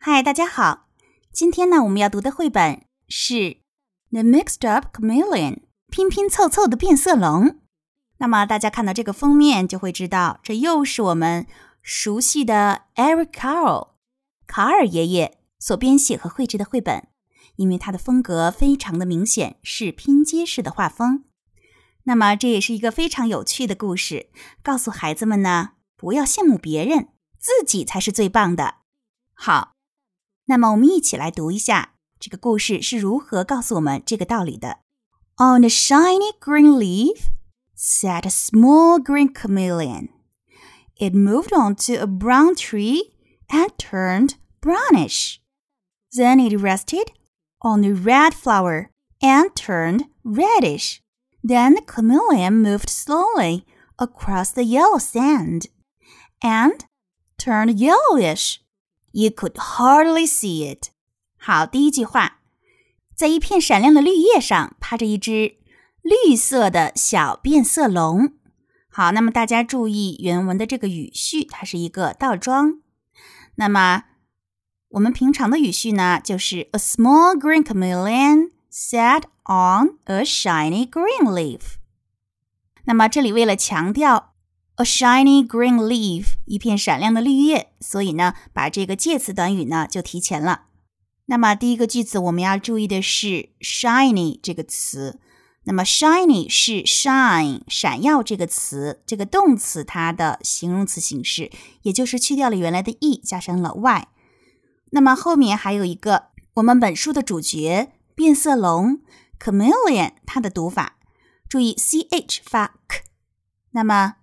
嗨，大家好。今天呢，我们要读的绘本是 The Mixed Up Chameleon 拼拼凑凑的变色龙。那么大家看到这个封面就会知道，这又是我们熟悉的 Eric Carle 卡尔爷爷所编写和绘制的绘本，因为它的风格非常的明显，是拼接式的画风。那么这也是一个非常有趣的故事，告诉孩子们呢，不要羡慕别人，自己才是最棒的。好，那么我们一起来读一下这个故事是如何告诉我们这个道理的。On a shiny green leaf sat a small green chameleon. It moved onto a brown tree and turned brownish. Then it rested on a red flower and turned reddish. Then the chameleon moved slowly across the yellow sand and turned yellowish.You could hardly see it. 好，第一句话，在一片闪亮的绿叶上趴着一只绿色的小变色龙。好，那么大家注意原文的这个语序，它是一个倒装。那么我们平常的语序呢，就是 A small green chameleon sat on a shiny green leaf. 那么这里为了强调A shiny green leaf, 一片闪亮的绿叶，所以呢，把这个介词短语呢就提前了。那么第一个句子我们要注意的是 shiny 这个词。那么 shiny 是 shine 闪耀这个词，这个动词它的形容词形式，也就是去掉了原来的 e 加上了 y。那么后面还有一个我们本书的主角变色龙 chameleon 它的读法，注意 ch 发 k， 那么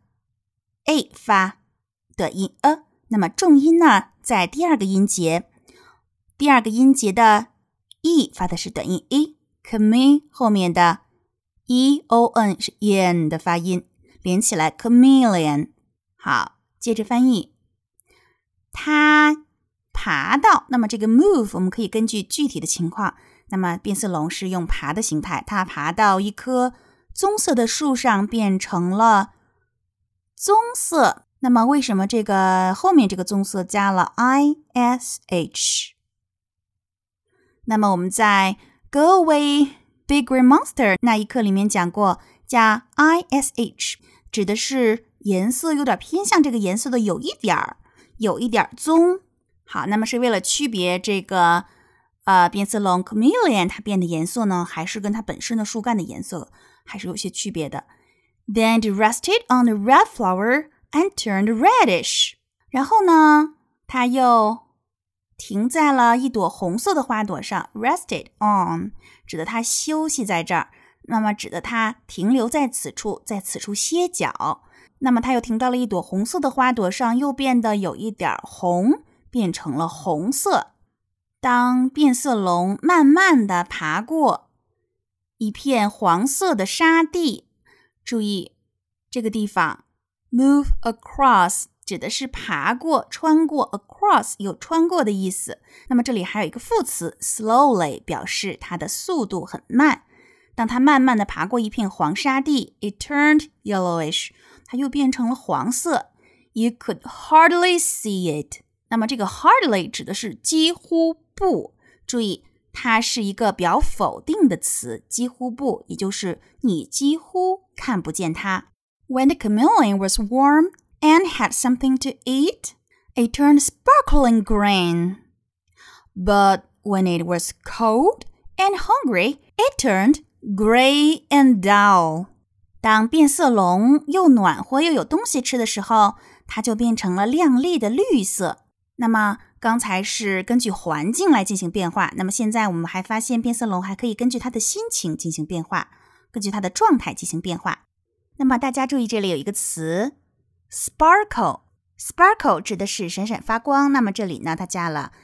a 发短音 a， 那么重音呢在第二个音节，第二个音节的 e 发的是短音 e， chame 后面的 eon 是 en 的发音，连起来 chameleon。 好，接着翻译，它爬到，那么这个 move 我们可以根据具体的情况，那么变色龙是用爬的形态，它爬到一棵棕色的树上变成了棕色，那么为什么这个后面这个棕色加了 ish？ 那么我们在 Go Away Big Green Monster 那一课里面讲过，加 ish 指的是颜色有点偏向这个颜色的有一点棕。好，那么是为了区别这个变色龙 chameleon 它变的颜色呢，还是跟它本身的树干的颜色还是有些区别的。Then it rested on the red flower and turned reddish. 然后呢，它又停在了一朵红色的花朵上。Rested on 指的它休息在这儿，那么指的它停留在此处，在此处歇脚。那么它又停到了一朵红色的花朵上，又变得有一点红，变成了红色。当变色龙慢慢地爬过一片黄色的沙地，注意这个地方 move across 指的是爬过穿过， across 有穿过的意思。那么这里还有一个副词 slowly 表示它的速度很慢。当它慢慢的爬过一片黄沙地， it turned yellowish 它又变成了黄色。 You could hardly see it。 那么这个 hardly 指的是几乎不，注意它是一个表否定的词，几乎不，也就是你几乎看不见它。When the chameleon was warm and had something to eat, it turned sparkling green. But when it was cold and hungry, it turned gray and dull. 当变色龙又暖和又有东西吃的时候，它就变成了亮丽的绿色。那么刚才是根据环境来进行变化，那么现在我们还发现变色龙还可以根据它的心情进行变化，根据它的状态进行变化。那么大家注意这里有一个词 sparkle， sparkle 指的是闪闪发光，那么这里呢它加了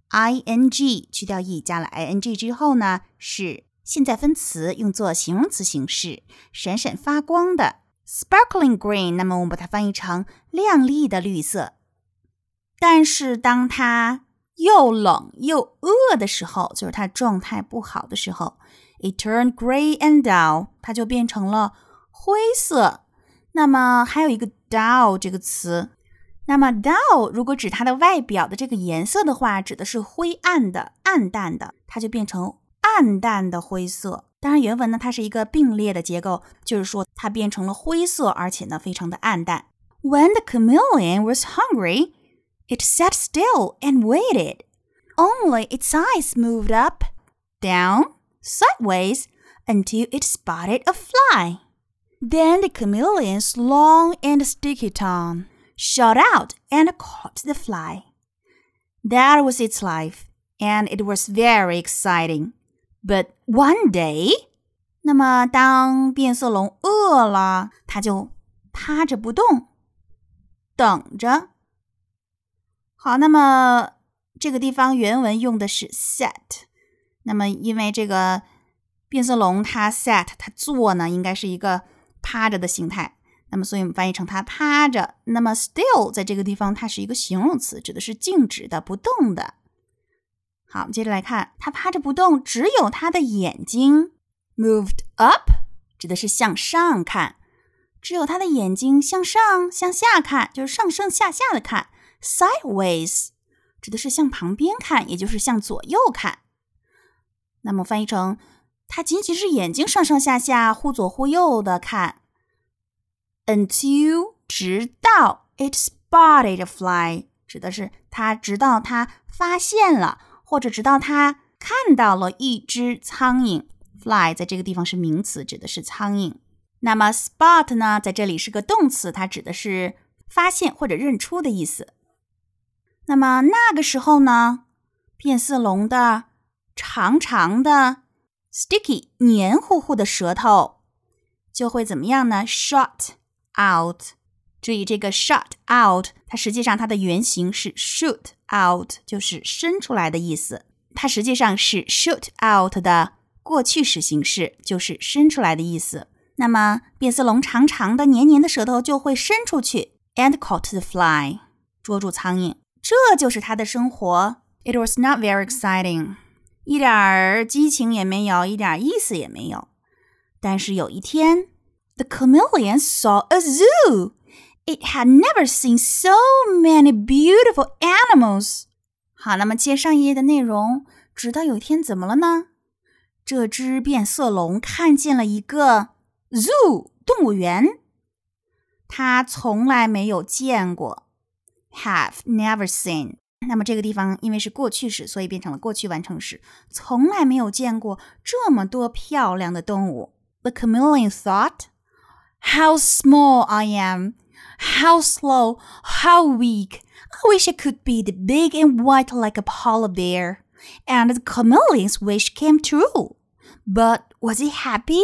ing， 去掉 e 加了 ing 之后呢是现在分词，用作形容词形式，闪闪发光的 sparkling green， 那么我们把它翻译成亮丽的绿色。但是当它又冷又饿的时候，就是它状态不好的时候， it turned gray and dull， 它就变成了灰色。那么还有一个 dull 这个词， 那么 dull 如果指它的外表的这个颜色的话，指的是灰暗的、暗淡的，它就变成暗淡的灰色。当然原文呢，它是一个并列的结构，就是说它变成了灰色，而且呢非常的暗淡。When the chameleon was hungry, it sat still and waited. Only its eyes moved up, down, sideways, until it spotted a fly. Then the chameleon's long and sticky tongue shot out and caught the fly. That was its life, and it was very exciting. But one day, 那么当变色龙饿了，它就趴着不动，等着。好，那么这个地方原文用的是 sat， 那么因为这个变色龙它 sat 它坐呢，应该是一个趴着的形态，那么所以我们翻译成它趴着。那么 still 在这个地方它是一个形容词，指的是静止的、不动的。好，接着来看，它趴着不动，只有它的眼睛 moved up， 指的是向上看，只有它的眼睛向上向下看，就是上上下下的看。Sideways 指的是向旁边看，也就是向左右看。那么翻译成它仅仅是眼睛上上下下忽左忽右的看。Until 直到 it spotted a fly， 指的是它直到它发现了，或者直到它看到了一只苍蝇。Fly 在这个地方是名词，指的是苍蝇。那么 spot 呢，在这里是个动词，它指的是发现或者认出的意思。那么那个时候呢，变色龙的长长的 sticky 黏糊糊的舌头就会怎么样呢？ shot out。 注意这个 shot out 它实际上它的原型是 shoot out， 就是伸出来的意思，它实际上是 shoot out 的过去时形式，就是伸出来的意思。那么变色龙长长的黏黏的舌头就会伸出去 and caught the fly， 捉住苍蝇。这就是它的生活。 It was not very exciting， 一点激情也没有，一点意思也没有。但是有一天 The chameleon saw a zoo. It had never seen so many beautiful animals. 好，那么接上一页的内容，直到有一天怎么了呢？这只变色龙看见了一个 zoo 动物园，它从来没有见过。Have never seen， 那么这个地方因为是过去时，所以变成了过去完成时，从来没有见过这么多漂亮的动物。The chameleon thought, how small I am, how slow, how weak. I wish I could be the big and white like a polar bear. And the chameleon's wish came true. But was he happy?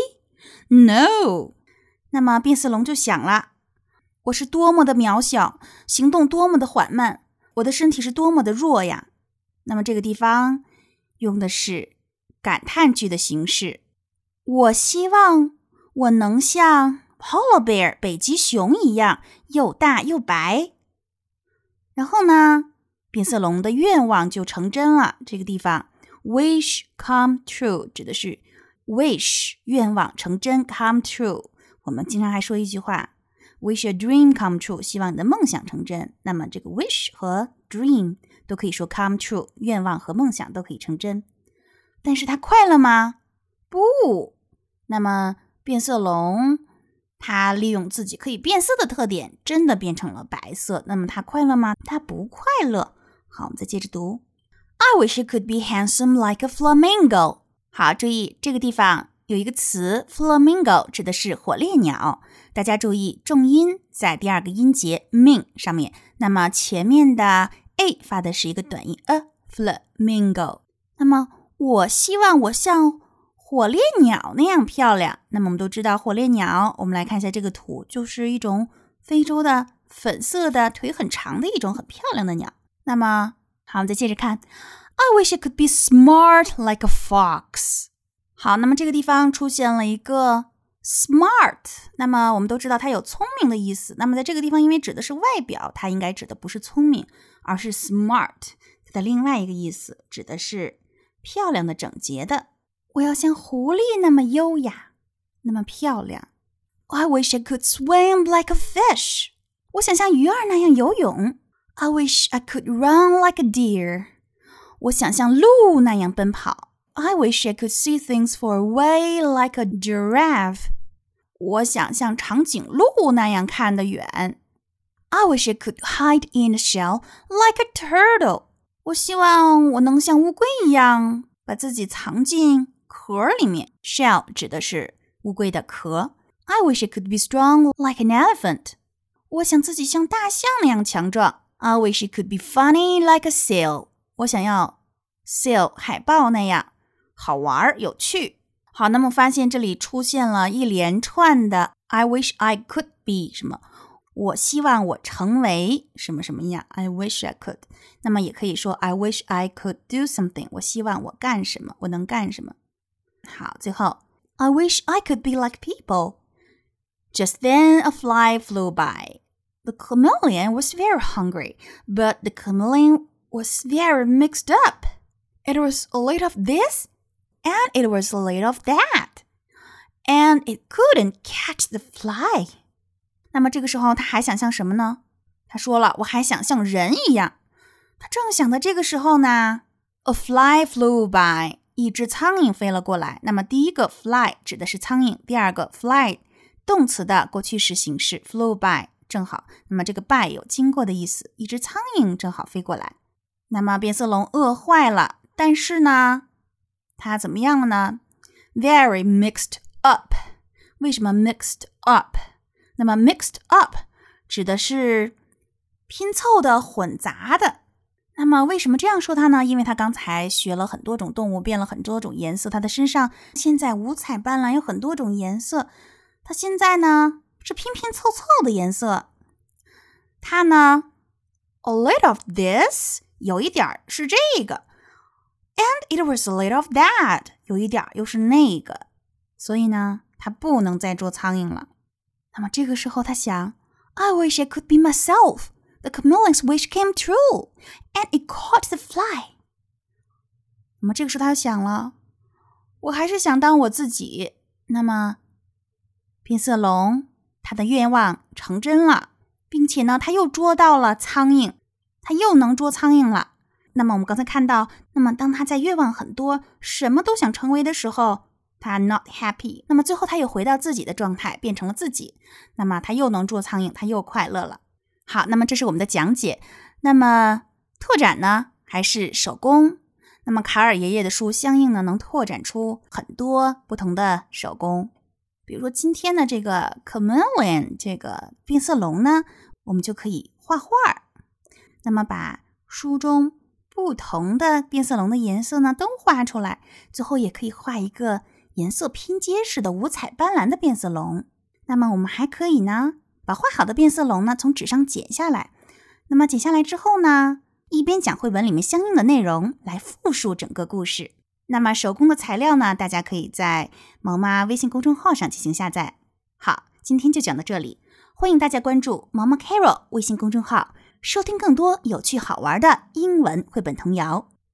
No. 那么变色龙就想了，我是多么的渺小，行动多么的缓慢，我的身体是多么的弱呀。那么这个地方用的是感叹句的形式。我希望我能像 polar bear 北极熊一样又大又白。然后呢，变色龙的愿望就成真了。这个地方 wish come true 指的是 wish 愿望成真 come true。 我们经常还说一句话Wish a dream come true， 希望你的梦想成真。那么这个 wish 和 dream 都可以说 come true， 愿望和梦想都可以成真。但是它快乐吗？不。那么变色龙它利用自己可以变色的特点，真的变成了白色。那么它快乐吗？它不快乐。好，我们再接着读。I wish I could be handsome like a flamingo。 好，注意这个地方有一个词 flamingo 指的是火烈鸟，大家注意重音在第二个音节 min 上面，那么前面的 a 发的是一个短音 a flamingo。 那么我希望我像火烈鸟那样漂亮。那么我们都知道火烈鸟，我们来看一下这个图，就是一种非洲的粉色的腿很长的一种很漂亮的鸟。那么好，我们再接着看 I wish I could be smart like a fox。 好，那么这个地方出现了一个 smart， 那么我们都知道它有聪明的意思。那么在这个地方因为指的是外表，它应该指的不是聪明，而是 smart 它的另外一个意思指的是漂亮的整洁的。我要像狐狸那么优雅，那么漂亮。 I wish I could swim like a fish。 我想像鱼儿那样游泳。 I wish I could run like a deer. 我想像鹿那样奔跑。I wish I could see things far away like a giraffe. 我想像长颈鹿那样看得远。I wish I could hide in a shell like a turtle. 我希望我能像乌龟一样把自己藏进壳里面。Shell 指的是乌龟的壳。I wish I could be strong like an elephant. 我想自己像大象那样强壮。I wish it could be funny like a seal. 我想要 seal 海豹那样好玩有趣。好，那么发现这里出现了一连串的 I wish I could be 什么，我希望我成为什么什么样 I wish I could。 那么也可以说 I wish I could do something， 我希望我干什么，我能干什么。好，最后 I wish I could be like people. Just then a fly flew by. The chameleon was very hungry, but the chameleon was very mixed up. It was a little of this, and it was a little of that, and it couldn't catch the fly. 那么这个时候他还想像什么呢？他说了，我还想像人一样。他正想的这个时候呢 A fly flew by. 一只苍蝇飞了过来。那么第一个 fly 指的是苍蝇，第二个 fly 动词的过去时形式 flew by正好，那么这个 by 有经过的意思，一只苍蝇正好飞过来。那么变色龙饿坏了，但是呢它怎么样了呢？ Very mixed up. 为什么 mixed up？ 那么 mixed up 指的是拼凑的混杂的。那么为什么这样说它呢？因为它刚才学了很多种动物，变了很多种颜色，它的身上现在五彩斑斓，有很多种颜色。它现在呢是拼拼凑凑的颜色。它呢 a little of this 有一点是这个， and it was a little of that 有一点又是那个，所以呢它不能再捉苍蝇了。那么这个时候它想 I wish I could be myself. The chameleon's wish came true, and it caught the fly. 那么这个时候他就想了，我还是想当我自己。那么变色龙他的愿望成真了，并且呢他又捉到了苍蝇，他又能捉苍蝇了。那么我们刚才看到，那么当他在愿望很多，什么都想成为的时候，他 not happy。 那么最后他又回到自己的状态，变成了自己。那么他又能捉苍蝇，他又快乐了。好，那么这是我们的讲解。那么拓展呢还是手工？那么卡尔爷爷的书相应呢能拓展出很多不同的手工。比如说今天的这个 chameleon 这个变色龙呢，我们就可以画画。那么把书中不同的变色龙的颜色呢都画出来，最后也可以画一个颜色拼接式的五彩斑斓的变色龙。那么我们还可以呢把画好的变色龙呢从纸上剪下来，那么剪下来之后呢，一边讲绘本里面相应的内容来复述整个故事。那么手工的材料呢，大家可以在毛妈微信公众号上进行下载。好，今天就讲到这里，欢迎大家关注毛妈 Carol 微信公众号，收听更多有趣好玩的英文绘本童谣。